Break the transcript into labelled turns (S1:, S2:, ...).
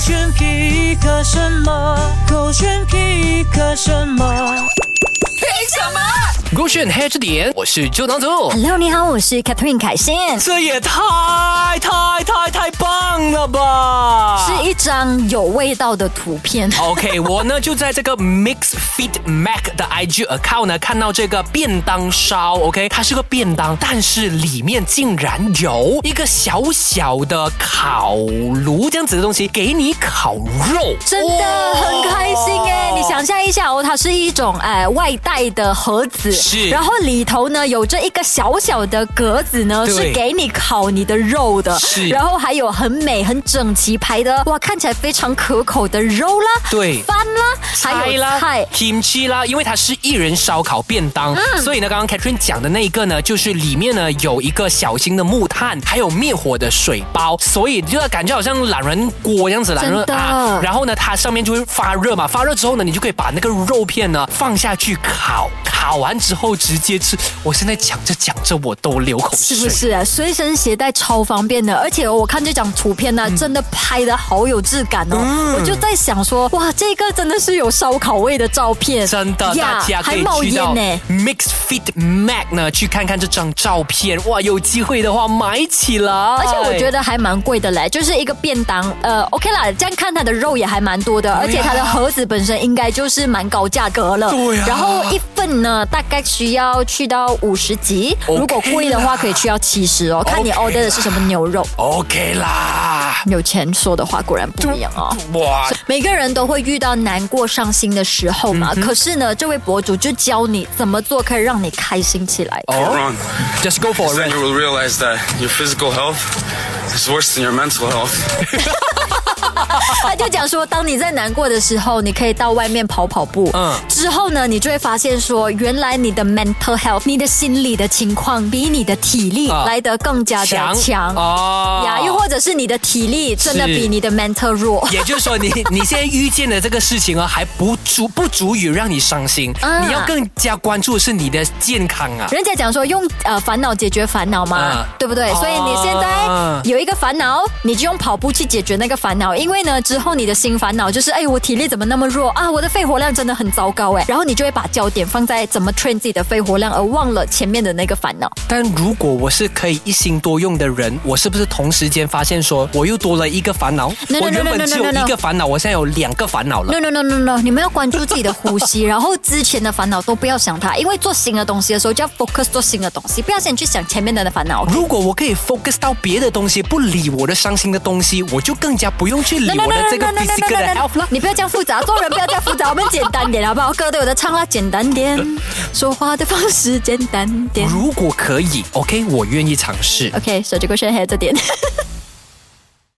S1: 选皮克什么？勾选皮克什么？
S2: 凭什么？
S3: 勾选黑着点，我是周当组。
S2: Hello， 你好，我是 Catherine 凯欣。
S3: 这也太棒了吧！
S2: 是一张有味道的图片。
S3: OK， 我呢就在这个 Mix Fit Mac 的 IG account 呢看到这个便当烧 ，OK， 它是个便当，但是里面竟然有一个小小的烤炉这样子的东西给你烤肉，
S2: 真的很开心哎！你想象一下哦，它是一种外带的盒子，
S3: 是，
S2: 然后里头呢有着一个小小的格子呢，是给你烤你的肉的，
S3: 是，
S2: 然后还有很美很整齐排的，哇，看起来非常可口的肉啦，
S3: 对，
S2: 饭啦，还有菜
S3: kimchi 啦，因为它是一人烧烤便当，所以呢，刚刚 Catherine 讲的那一个呢，就是里面呢有一个小型的木炭，还有灭火的水包，所以就感觉好像懒人锅这样子，懒人啊，然后呢，它上面就会发热嘛，发热之后呢，你就可以把那个肉片呢放下去烤，烤完之后直接吃。我现在讲着我都流口水，
S2: 是不是啊？随身携带超方便的，而且我看这张图片呢，真的拍得好有质感哦。我就在想说，哇，这个真的是有烧烤味的照片，
S3: 真的，大家可以去到 Mix Fit Mac 呢去看看这张照片，哇，有机会的话买起来。
S2: 而且我觉得还蛮贵的嘞，就是一个便当，OK 啦，这样看它的肉也还蛮多的，而且它的盒子本身应该就是蛮高价格了。
S3: 对啊。
S2: 然后一份呢，大概需要去到50几，如果贵的话可以去到70哦，看你 order 的是什么牛肉。
S3: OK 啦，
S2: 有钱说的话果然不一样哦。哇，每个人都会遇到难过伤心的时候嘛，可是呢，这位博主就教你怎么做可以让你开心起来。
S3: Just go for it.
S4: Then you will realize that your physical health is worse than your mental health.
S2: 他就讲说，当你在难过的时候，你可以到外面跑跑步。之后呢，你就会发现说，原来你的 mental health， 你的心理的情况比你的体力来得更加的强呀，又或者是你的体力真的比你的 mental 弱。
S3: 也就是说，你现在遇见的这个事情还不足以让你伤心，你要更加关注的是你的健康啊。
S2: 人家讲说用烦恼解决烦恼嘛，对不对？所以你现在有一个烦恼，你就用跑步去解决那个烦恼，因为呢，之后你的新烦恼就是，我体力怎么那么弱啊？我的肺活量真的很糟糕然后你就会把焦点放在怎么 train 自己的肺活量，而忘了前面的那个烦恼。
S3: 但如果我是可以一心多用的人，我是不是同时间发现说，我又多了一个烦恼？我原本只有一个烦恼，我现在有2个烦恼了。
S2: No， 你们要关注自己的呼吸，然后之前的烦恼都不要想它，因为做新的东西的时候就要 focus 做新的东西，不要先去想前面的烦恼。
S3: 如果我可以 focus 到别的东西，不理我的伤心的东西，我就更加不用去理我的这个 physical 的 health 了。
S2: 你不要这样复杂，做人不要这样复杂，我们简单点好不好？歌都有的唱啦，简单点，说话的方式简单点。
S3: 如果可以 ，OK， 我愿意尝试。
S2: OK， 手机勾选黑这点。